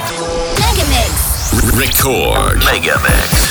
Megamix. Record. Megamix.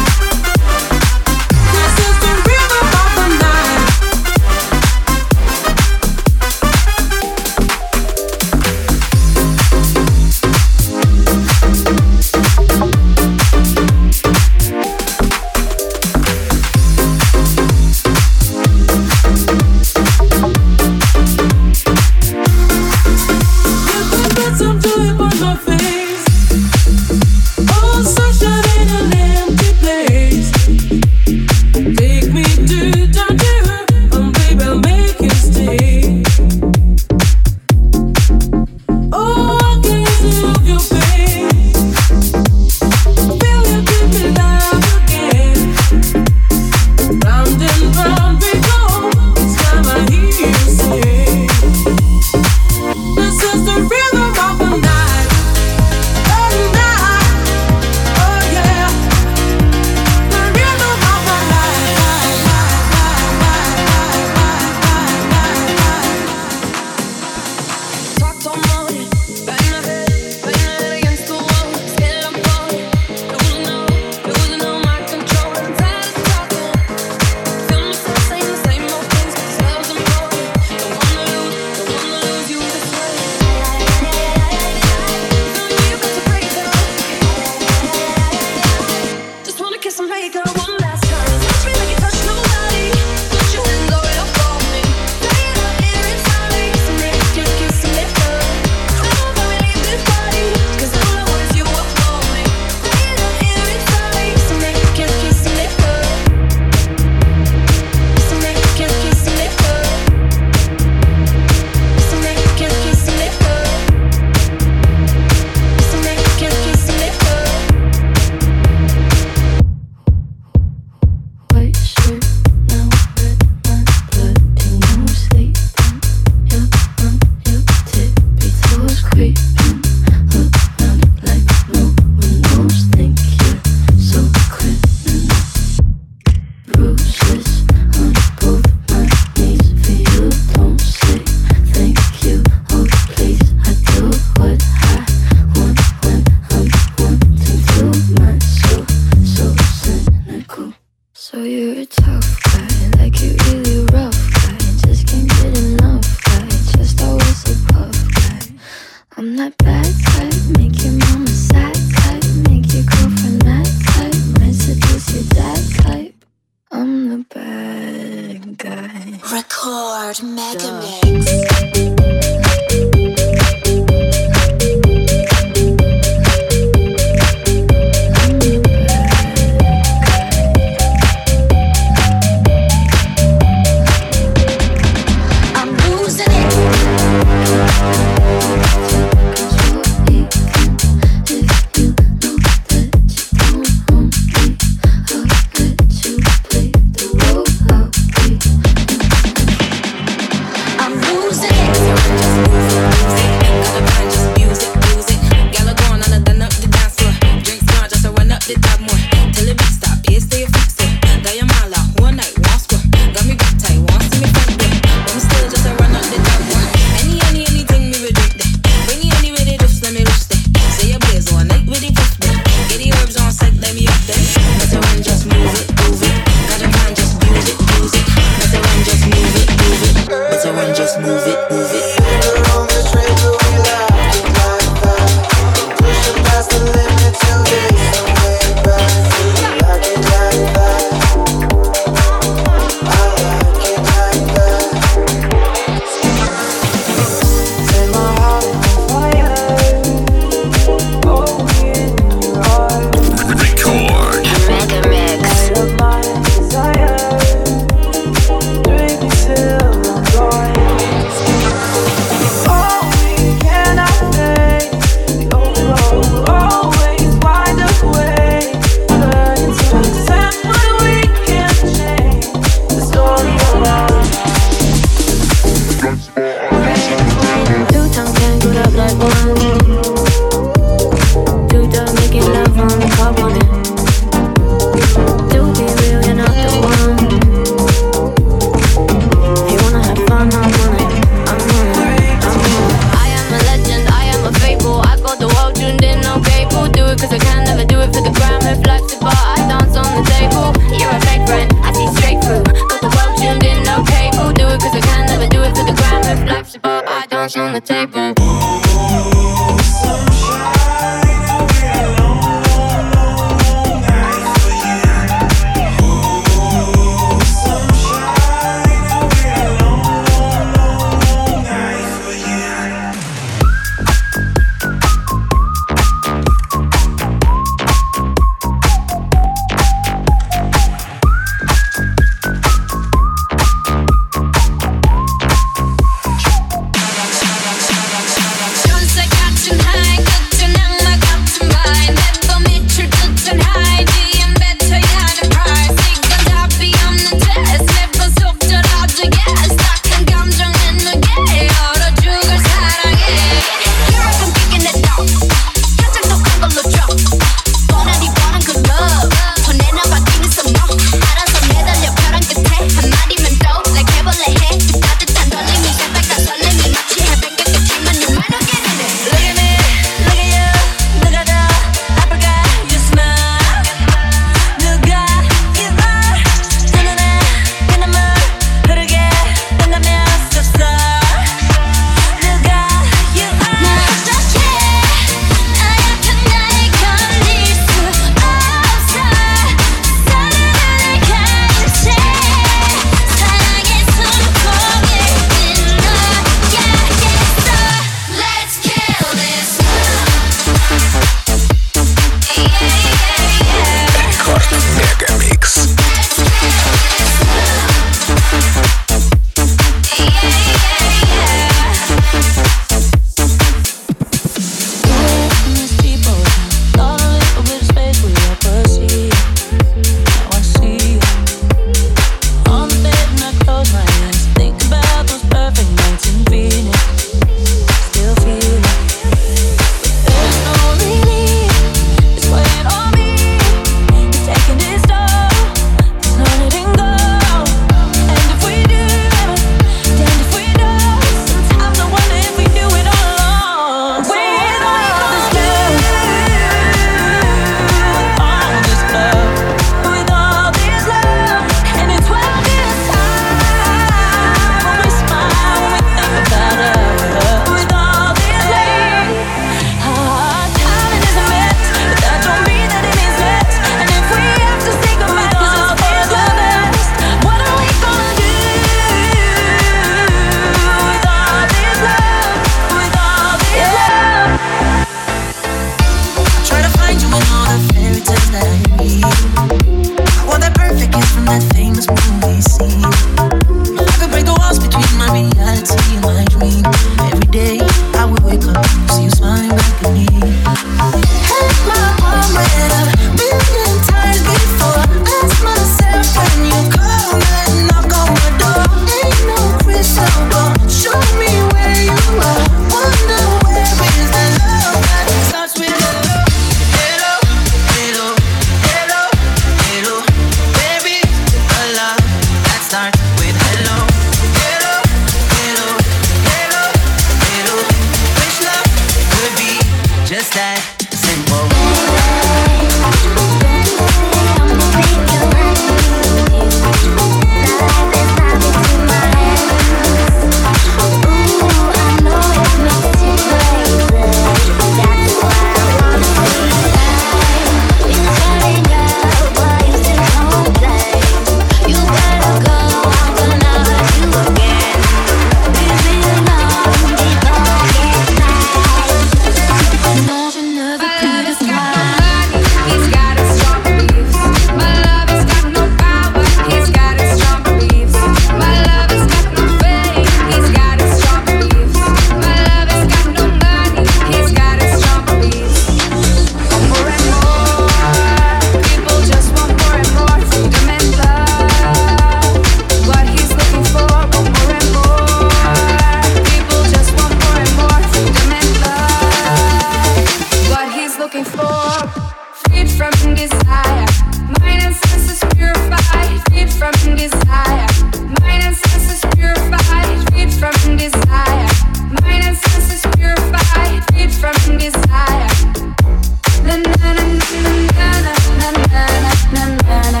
desire. Mind and senses purified, freed from desire. Mind and senses purified, freed from desire. Na na na na na na na na na na na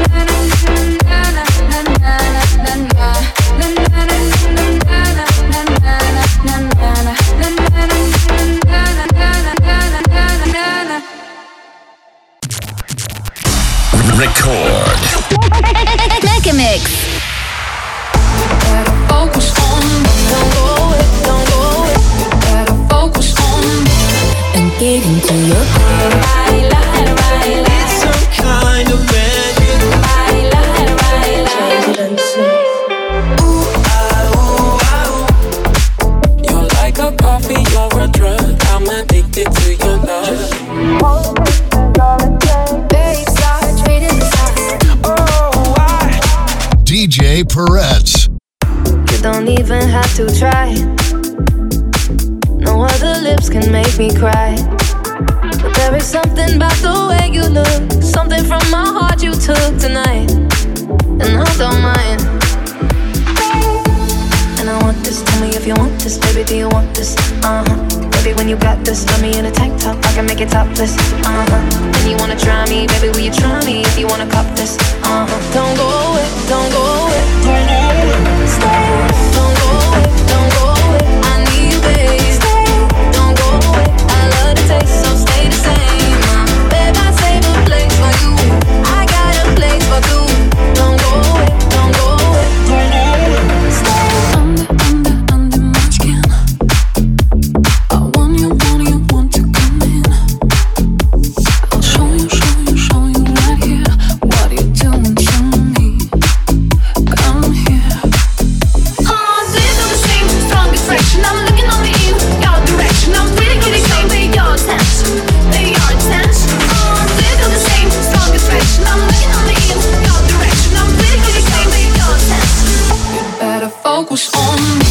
Record. Mega Mix. Gotta focus on me. Don't go away, don't go away. Gotta focus on me and get into your head. It's some kind of magic. You're like a coffee, you're a drug. I'm addicted to your love. DJ Peretz. You don't even have to try. No other lips can make me cry. But there is something about the way you look, something from my heart you took tonight, and I don't mind. And I want this, tell me if you want this, baby, do you want this? Baby, when you got this, love me in a tank top, I can make it topless. And you wanna try me, baby, will you try me if you wanna cop this? Don't go away, don't go away, stay. Don't go away, don't go away, I need you, babe. Stay, don't go away, I love the taste, so stay the same. Babe, I save a place for you, I got a place for two. Don't go away, don't go away, stay. Under my skin, I want you to come in. I'll show you right here what you're doing to me. Come here. Do you feel the same strong attraction? I'm looking only in your direction. I'm really getting close. Pay your attention. Do you feel the same strong attraction? I'm looking only in your direction. I'm really getting close. Pay your attention. You better focus on me.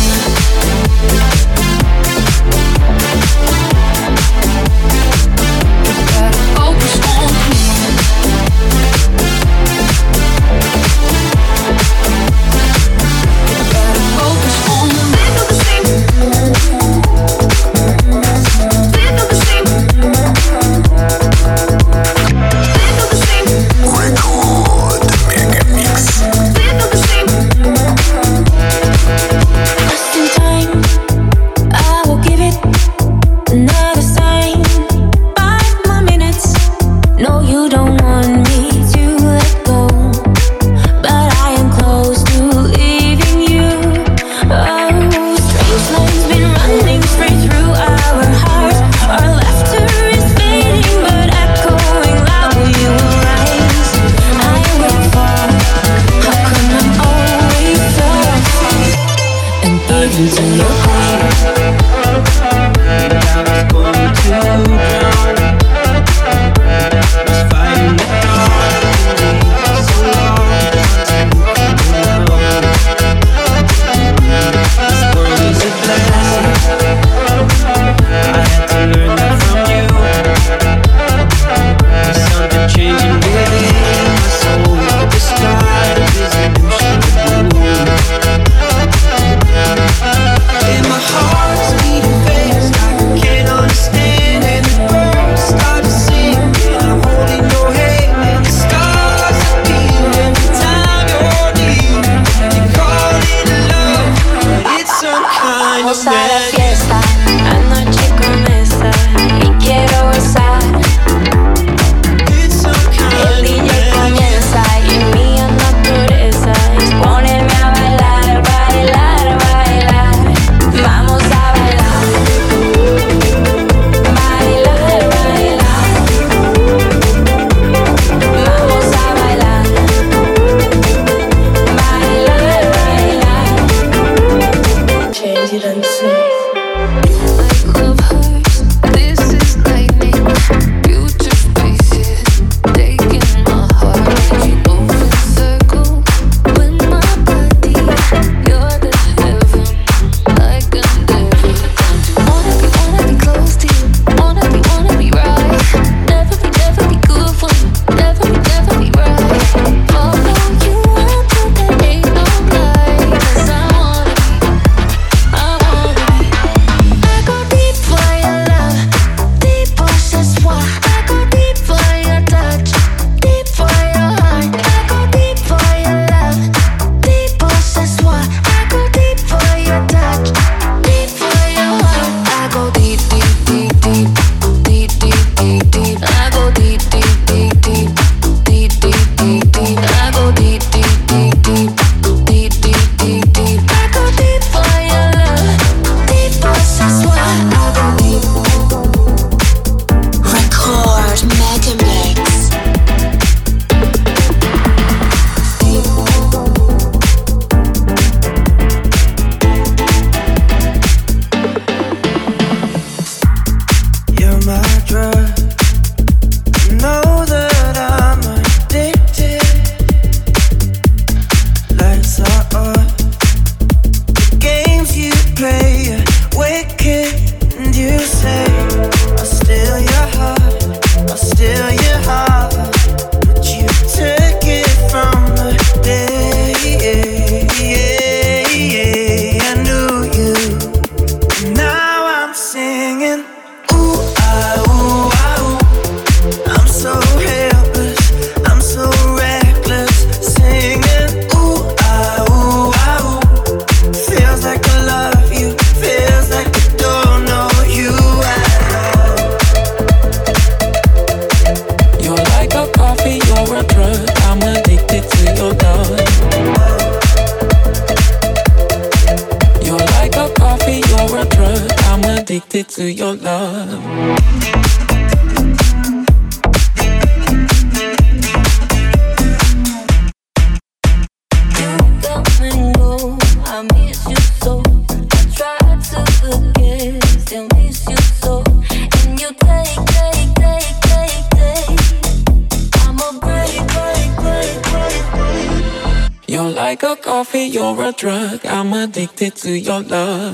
addicted to your love. You're like a coffee, you're a drug. I'm addicted to your love.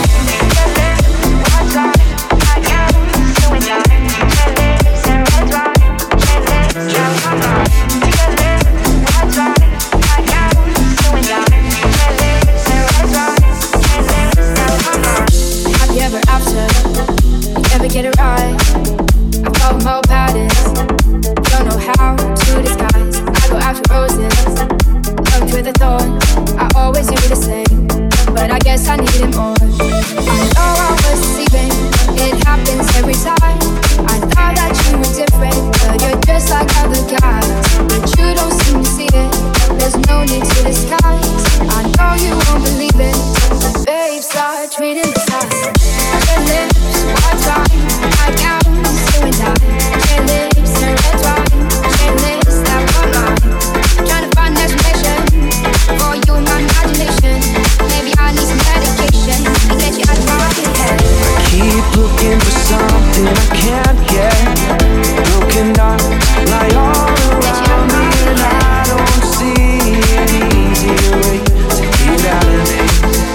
Have you ever after? Never get it right. I follow my patterns. Don't know how to disguise. I go after roses. Loved with a thorn. I always do the same, but I guess I needed more. I know I was deceiving. It happens every time. I thought that you were different, but you're just like other guys. But you don't seem to see it. There's no need to disguise. I know you won't believe it, but babe, start treating the signs. Red lips, white wine, high gowns, you and I. Red lips and red wine, red lips that were mine. Trying to find explanation for you in my imagination. Maybe I need some medication to get you out of my head. I keep looking for something I can't get. Broken hearts lie all around me, and I don't see an easier way to get out of it.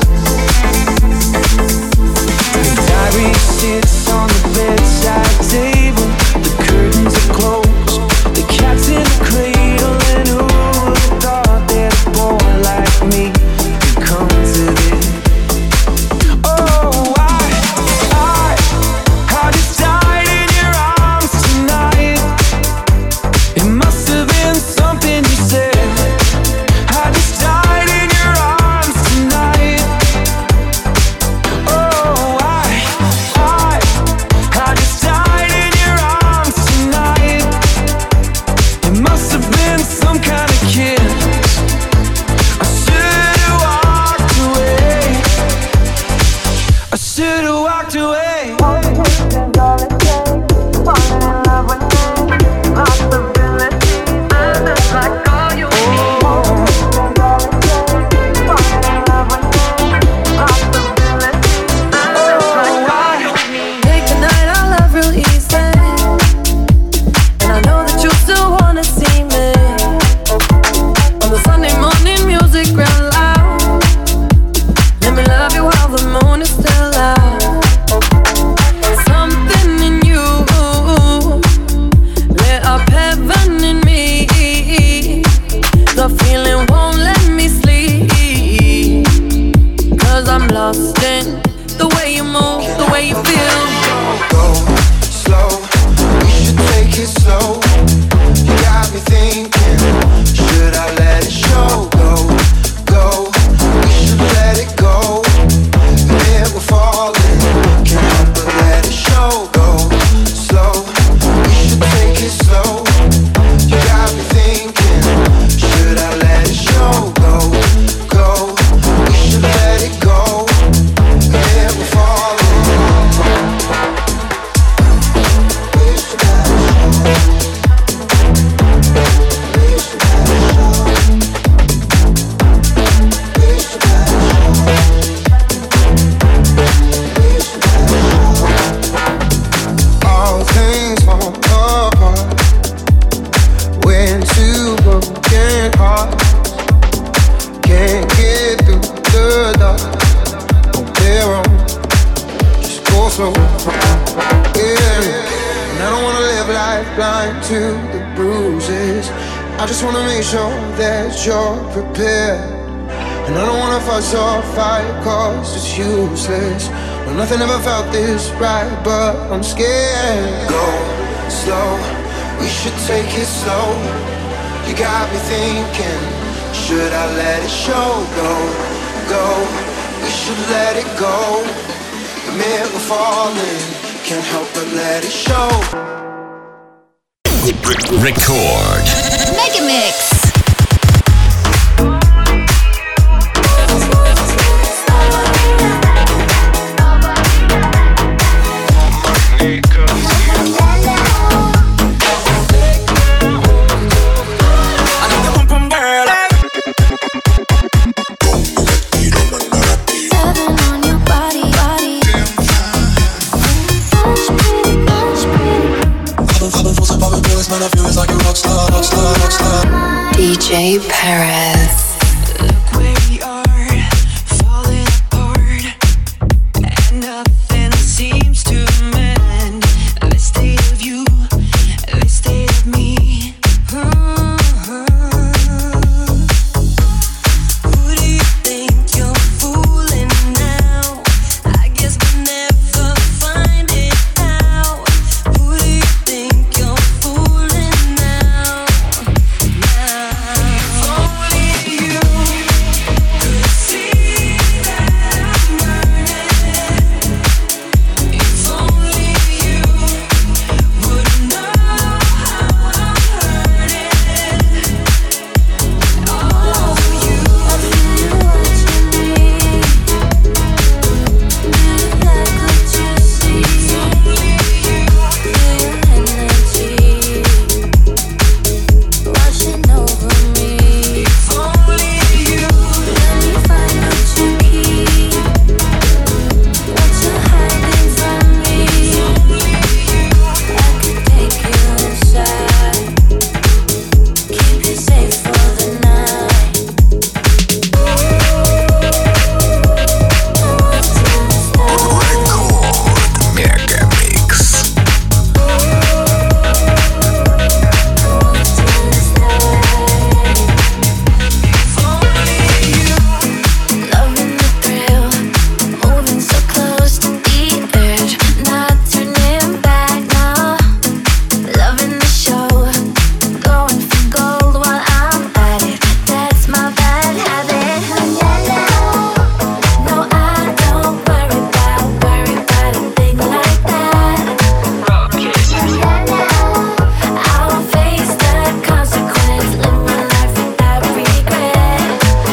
The diary sits on the bedside table. The curtains are closed. The cat's in the cradle, and who would have thought that a boy like me could come to this? Oh, I just died in your arms tonight. It must have been something you said. I just died in your arms tonight. Oh, I just died in your arms tonight. It must have been some kind of kiss. I should have walked away. I should have walked away. Make the night our love real easy, and I know that you still wanna see me. On the Sunday morning, music real loud. Let me love you while the moon is still out. Something in you lit up heaven in me. The feeling won't let me sleep, 'cause I'm lost in the way you move, the way you feel. Go slow, we should take it slow. You got me thinking, should I let it show? Go, we should let it go. Then we're falling, can't help but let it show. Go slow, we should take it slow. You got me thinking, should I let it show? Go, we should let it go. Then we're falling. All things fall apart when two broken hearts can't get through the dark on their own. Just go slow, yeah. And I don't wanna live life blind to the bruises. I just wanna make sure that you're prepared. And I don't wanna fuss or fight, 'cause it's useless. Well, nothing ever felt this right, but I'm scared. Go slow, we should take it slow. You got me thinking, should I let it show? Go, we should let it go. The minute we're falling, can't help but let it show. Record. Mega Mix. DJ Perez. Look where we are, falling apart, and nothing seems to mend. This state of you, this state of me. Who do you think you're fooling now? I guess we'll never find it out. Who do you think you're fooling now? If only you could see that I'm burning. If only you would know how I'm hurting. Oh, you. I feel you watching me. Do you like what you see? If only you. Feel your energy washing over me. If only you. Let me find what you keep, what you're hiding from me. If only you. I could take you inside, keep you safe for the night. I want to stay. Mega Mix. Loving the thrill, moving so close to the edge, not turning back now. Loving the show, going for gold while I'm at it. That's my bad habit. No, I don't worry about a thing like that. I'll face the consequence, live my life without regret.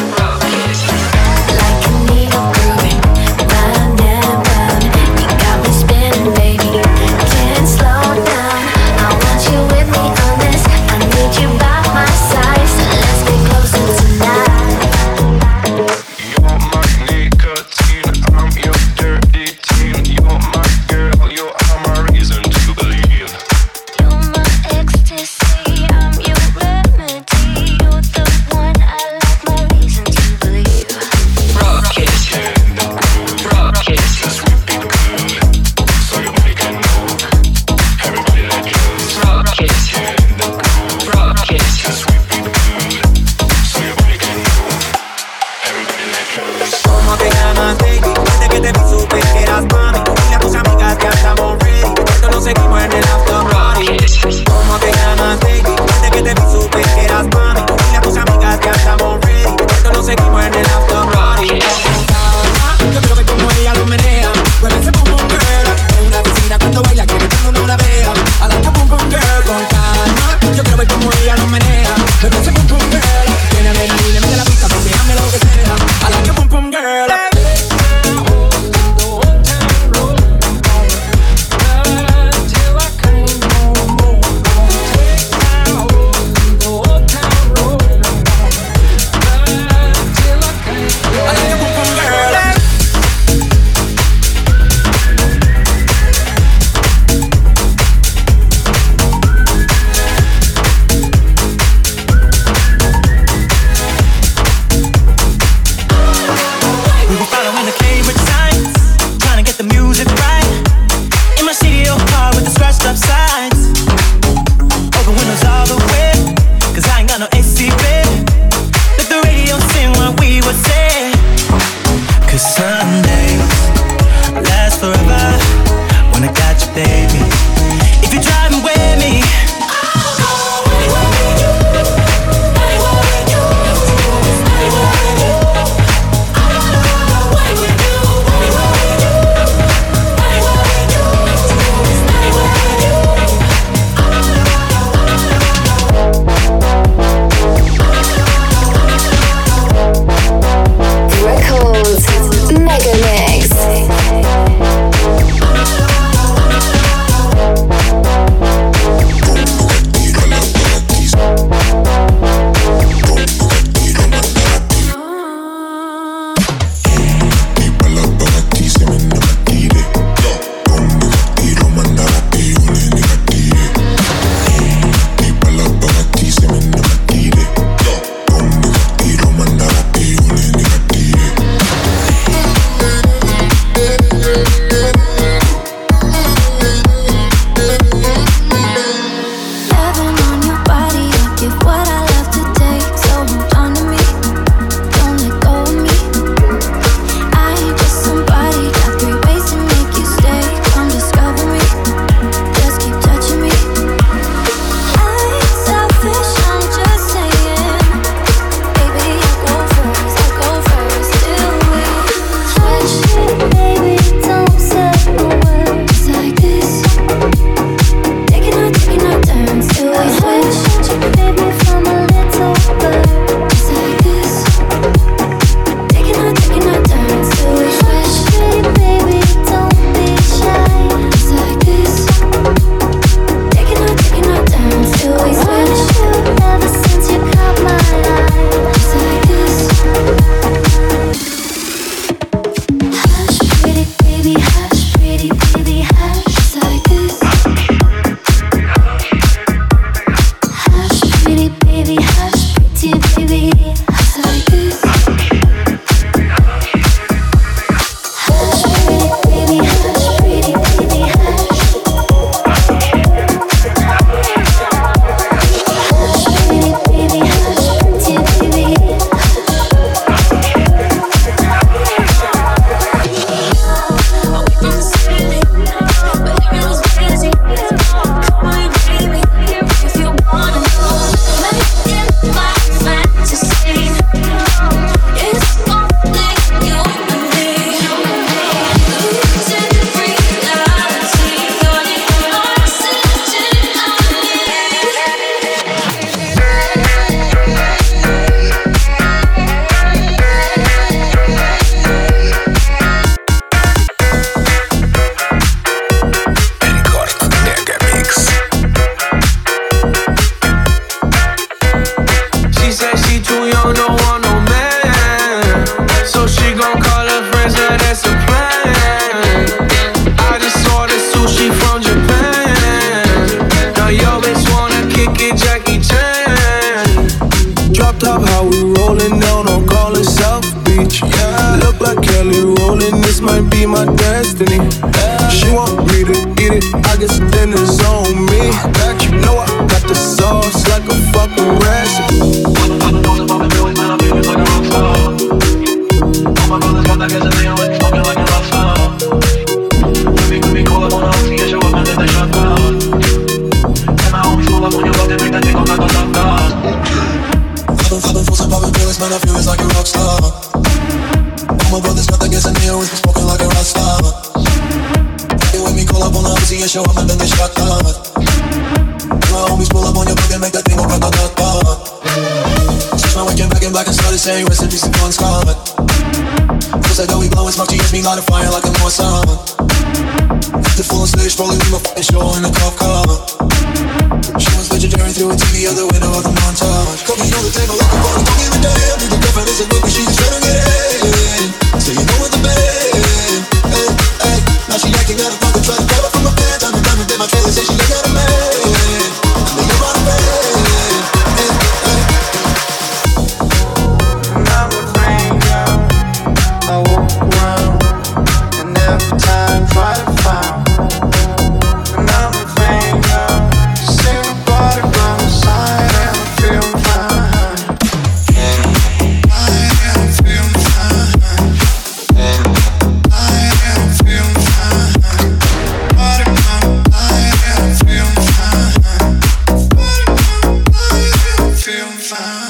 Like a needle grooving, round and round. You got me spinning, baby, can't slow down. I want you with me on this, I need you by my side, so let's get closer tonight. You're my nicotine, I'm your dirty teen. You're my girl, you are my reason to believe. You're my ecstasy, I'm your remedy. You're the one I like, my reason to believe. So your body can move, everybody let loose. Just whip it good, so your body can move, everybody let loose. ¿Cómo te llamas, baby? Desde que te vi supe que eras mami. Dile a tus amigas que estamos ready, esto lo seguimos en el after party. ¿Cómo te llamas, baby? Desde que te vi supe que eras mami. Dile a tus amigas que estamos ready, esto lo seguimos en el after party. Yo quiero ver cómo ella lo menea. Mueve ese pum pum girl. En una piscina cuando baila quiere que uno no la vea. I like a pum pum girl con calma. Yo quiero ver cómo ella lo menea. Mueve ese pum pum girl. Tiene adrenalina, mete la pista, pues déjame lo que sea. I like a pum pum girl. Till I can't no more. Take my old town road. destiny. She want me to eat it, I guess then it's on me. You know I got the sauce like a fucking recipe. All my brothers got that gas and they always smoking like a rock star. Let me call up on the house, yeah, show up and then they shut down. And my homies pull up on your block, they bring that thing on like a top dog. I've been frozen, popping pills, man, I feel it's like a rock star. All my brothers got that gas and they always smoking like a rock star. They when me call up on the house, yeah, show up and then they shut down. And my homies pull up on your block, they make that thing go like a top dog. Switch my weekend back in black and started saying recipes to Bon Scott. Cause I know we blowin' smoke, she gets me light a fire like a North Summer. The full on stage, rolling with my fucking show in a cop car. She was vegetarian through a TV out the window of the montage. Cooking on the table like a bone, don't give a damn. Do the girlfriend is a look, but she's trying to get in. So you know what the band. Hey, hey. Now she acting out of pocket, trying to grab her from my pants. Time and time again, my trailer say she ain't got a man. And then you're on a band. Hey, hey. And I'm a stranger. I walk around and every time try to find. And I'm a stranger. See nobody by my side and I feel fine. I am feeling fine. I am feeling fine. Body count, I am feeling fine. Body count, I am feeling fine.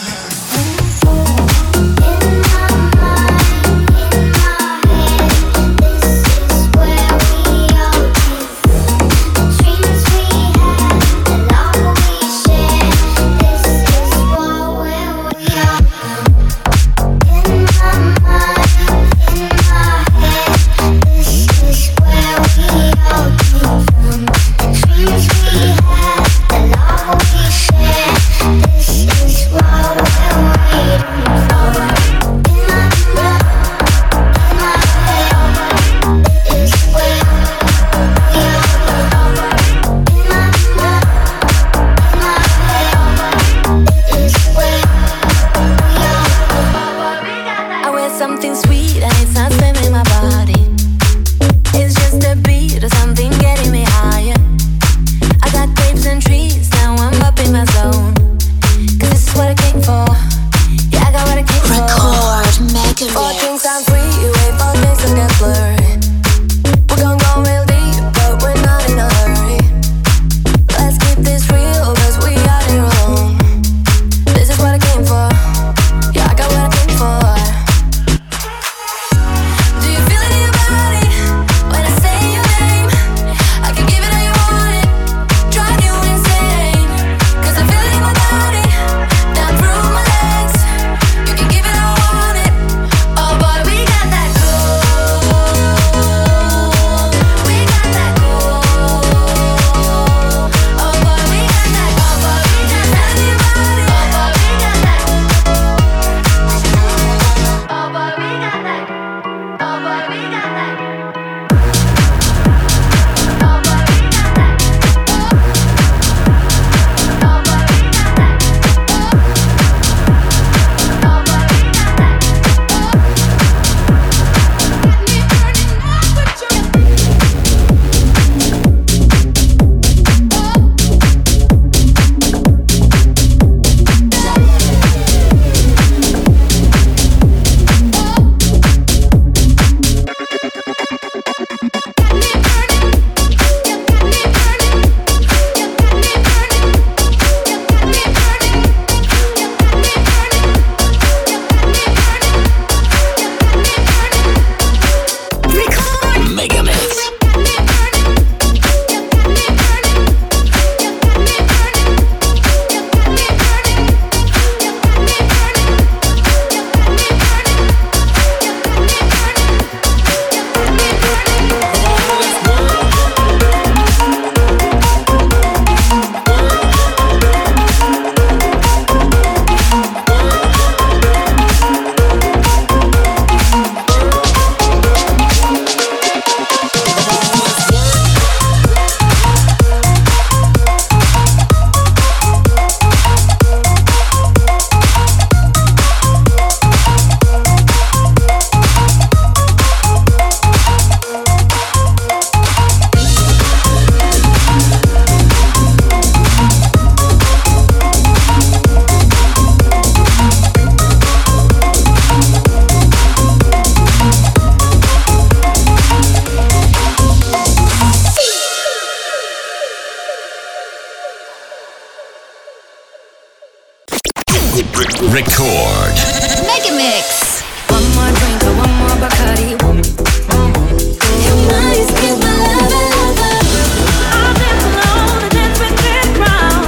Record. Mega Mix. One more drink or one more Bacardi. Your body's keep my lover. I'll dance alone and dance with this crowd.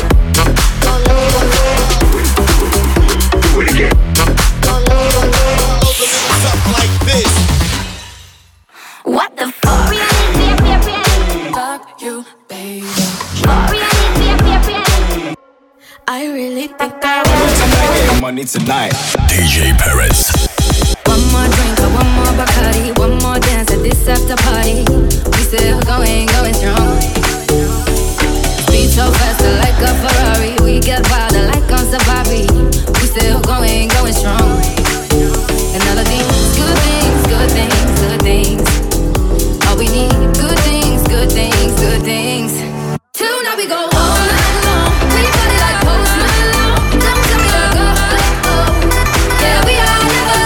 Do it again. Something like this. What the fuck? Fuck you, baby. I really think I Tonight, money tonight. DJ Perez. One more drink or one more Bacardi. One more dance at this after party. We still going strong. Speed so fast like a Ferrari. We get wilder like on safari. We still going strong. And all of these good things, good things, good things. All we need, good things, good things, good things. Tonight we go all night long. We party like Post Malone. Don't tell me to go, let go. Yeah, we are never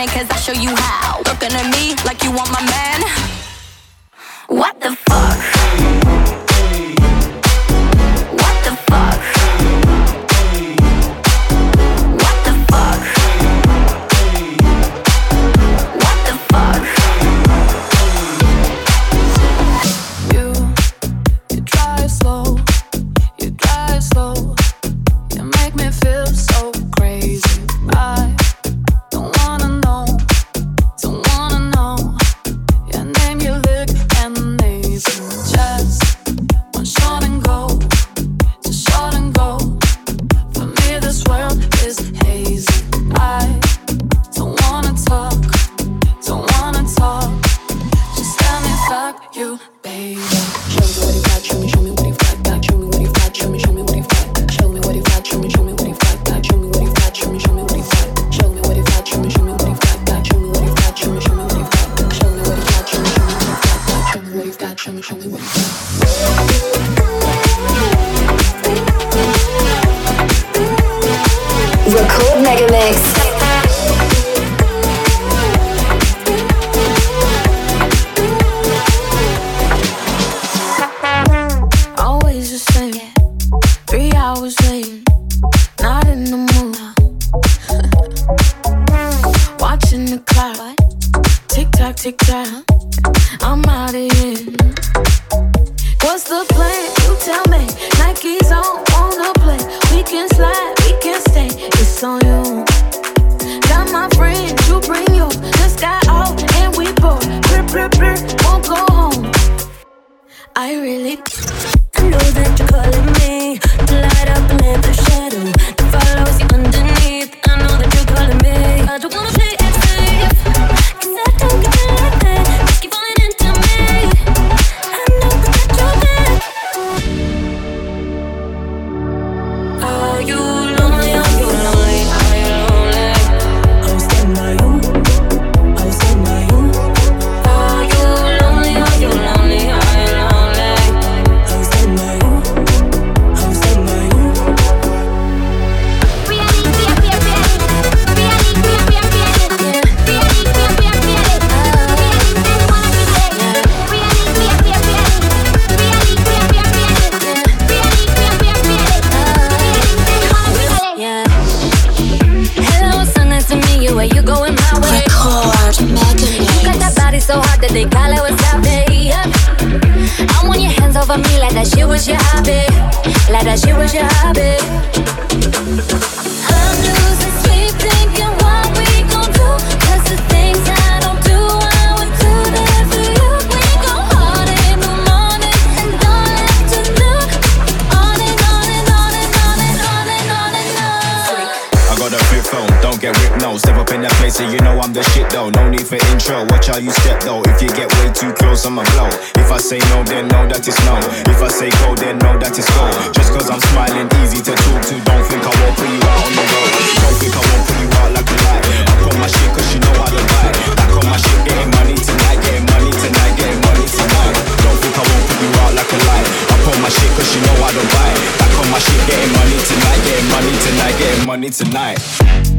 it, cause I'll show you how. Looking at me like you want my man. What the fuck? What the fuck? What the fuck? What the fuck? You drive slow, you drive slow. You make me feel so crazy. I don't wanna know your name, your lick, and the nation. Just one shot and go, just shot and go. For me, this world is hazy. I don't wanna talk, don't wanna talk. Just let me fuck you, baby. Show me what he got, show me what he got, show me what he got. Show me what he got, show me what he got. Show me what he got, show me what he got. Show me what he got, show me what he got. Show me what he got, show me what he got. Show me what he got, show me what he got. Show me what he got, show me what he got. Record Mega Mix. Always the same. 3 hours late, not in the mood. Watching the clock, tick tock, tick tock. I'm out of here. What's the plan? You tell me. Nike's on the play. We can slide, we can stay. It's on you. Got my friends, you bring yours. Just got out and we both won't go home. I really know that you're calling me to light up and let the shadow that follows you underneath. I know that you're calling me. I don't wanna play it safe, cause I don't get it like that. Just keep falling into me. I know that you're there. Are you lonely? Are you lonely? Are you lonely? I'll stand by you. I'll stand by you. Are you lonely? Are you lonely? Are you lonely? I'll stand by you. I'll stand by you. Yeah. Hello, so nice to meet you. Where you going my way? Record Mega You got that Mix. body so hot that they call it what's up, babe. I want your hands over me like that shit was your hobby. Like that shit was your hobby. I'm losing sleep thinking what we gon' do. Cause the things I don't do, I would do that for you. We go hard in the morning and don't have to look. On and on and on and on and on and on and on. I got a flip phone, don't get ripped, no. Step up in that place and you know I'm the shit though. No need for intro, watch how you step though. If you get way too close, I'ma blow. If I say no, then know that it's no. If I say go, then know that it's go. Just cause I'm smiling, easy to talk to. Don't think I won't put you out on the road. Don't think I won't put you out like a lie. I put my shit cause you know how to buy. Back on my shit, getting money tonight. Getting money tonight, getting money tonight. Don't think I won't put you out like a lie. I put my shit cause you know how to buy. Back on my shit, getting money tonight. Getting money tonight, getting money tonight.